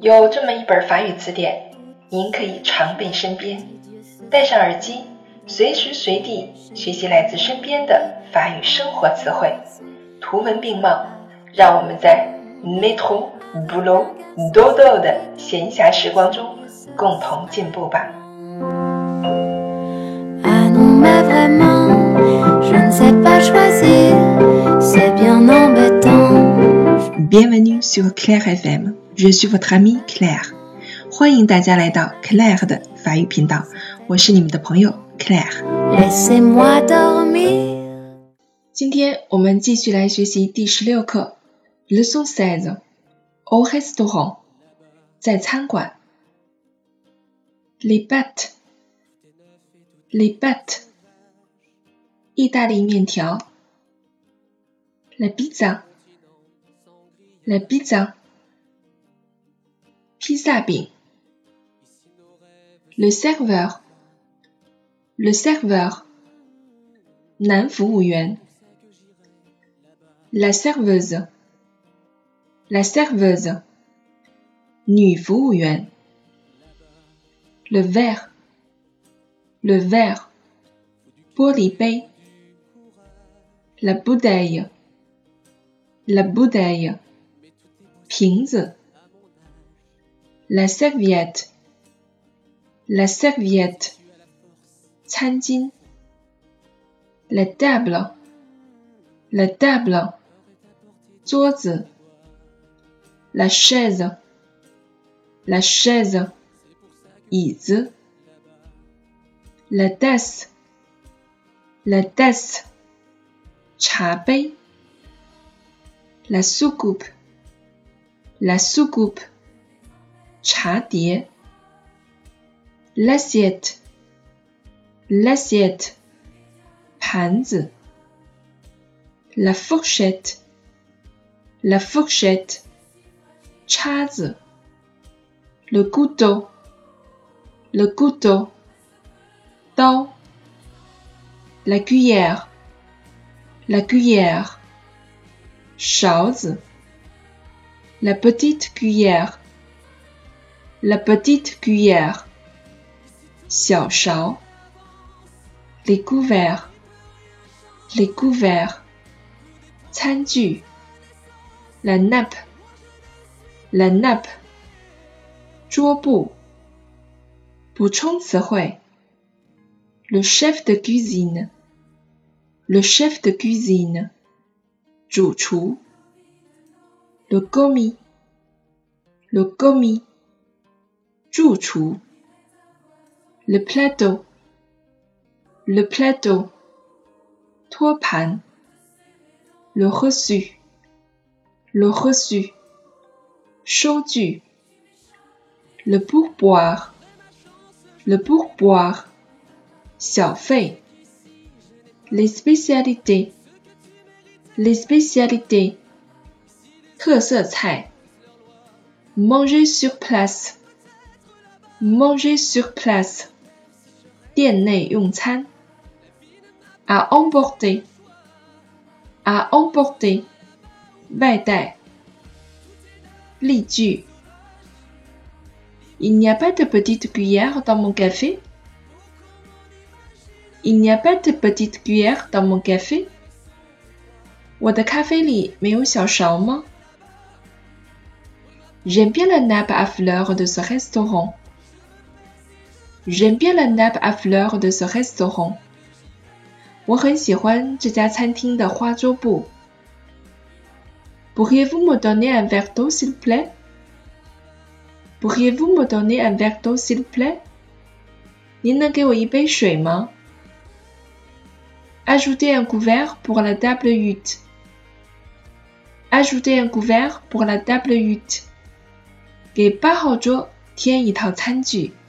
有这么一本法语词典，您可以常备身边，戴上耳机，随时随地学习来自身边的法语生活词汇，图文并茂，让我们在 métro, boulot, dodo 的闲暇时光中共同进步吧。 Bienvenue sur Claire FM, je suis votre amie Claire. 欢迎大家来到 Claire 的法语频道，我是你们的朋友 Claire。今天我们继续来学习第16课 Leçon 16 Au restaurant 在餐馆 Les pâtes 意大利面条 La pizza 披萨饼 Le serveur 男服务员 La serveuse 女服务员 Le verre 玻璃杯 La bouteille 瓶子 La serviette 餐巾 La table 桌子 La chaise 椅子 La tasse 茶杯 La soucoupe 茶碟 L'assiette 盘子 La fourchette 叉子 Le couteau 刀 La cuillère 勺子 La petite cuillère 小勺 Les couverts 餐具 La nappe 桌布补充词汇 Le chef de cuisine 主厨 Le commis 助厨 Le plateau 托盘 Le reçu 收据 Le pourboire 小费 Les spécialités 特色菜 Manger sur place 店内用餐 À emporter 外带例句 Il n'y a pas de petite cuillère dans mon café? Il n'y a pas de petite cuillère dans mon café? 我的咖啡里没有小勺吗？ J'aime bien la nappe à fleurs de ce restaurant. 我很喜欢这家餐厅的花桌布。Pourriez-vous me donner un verre d'eau s'il plaît? 您能给我一杯水吗？ Ajoutez un couvert pour la table haute. 给8号桌添一套餐具。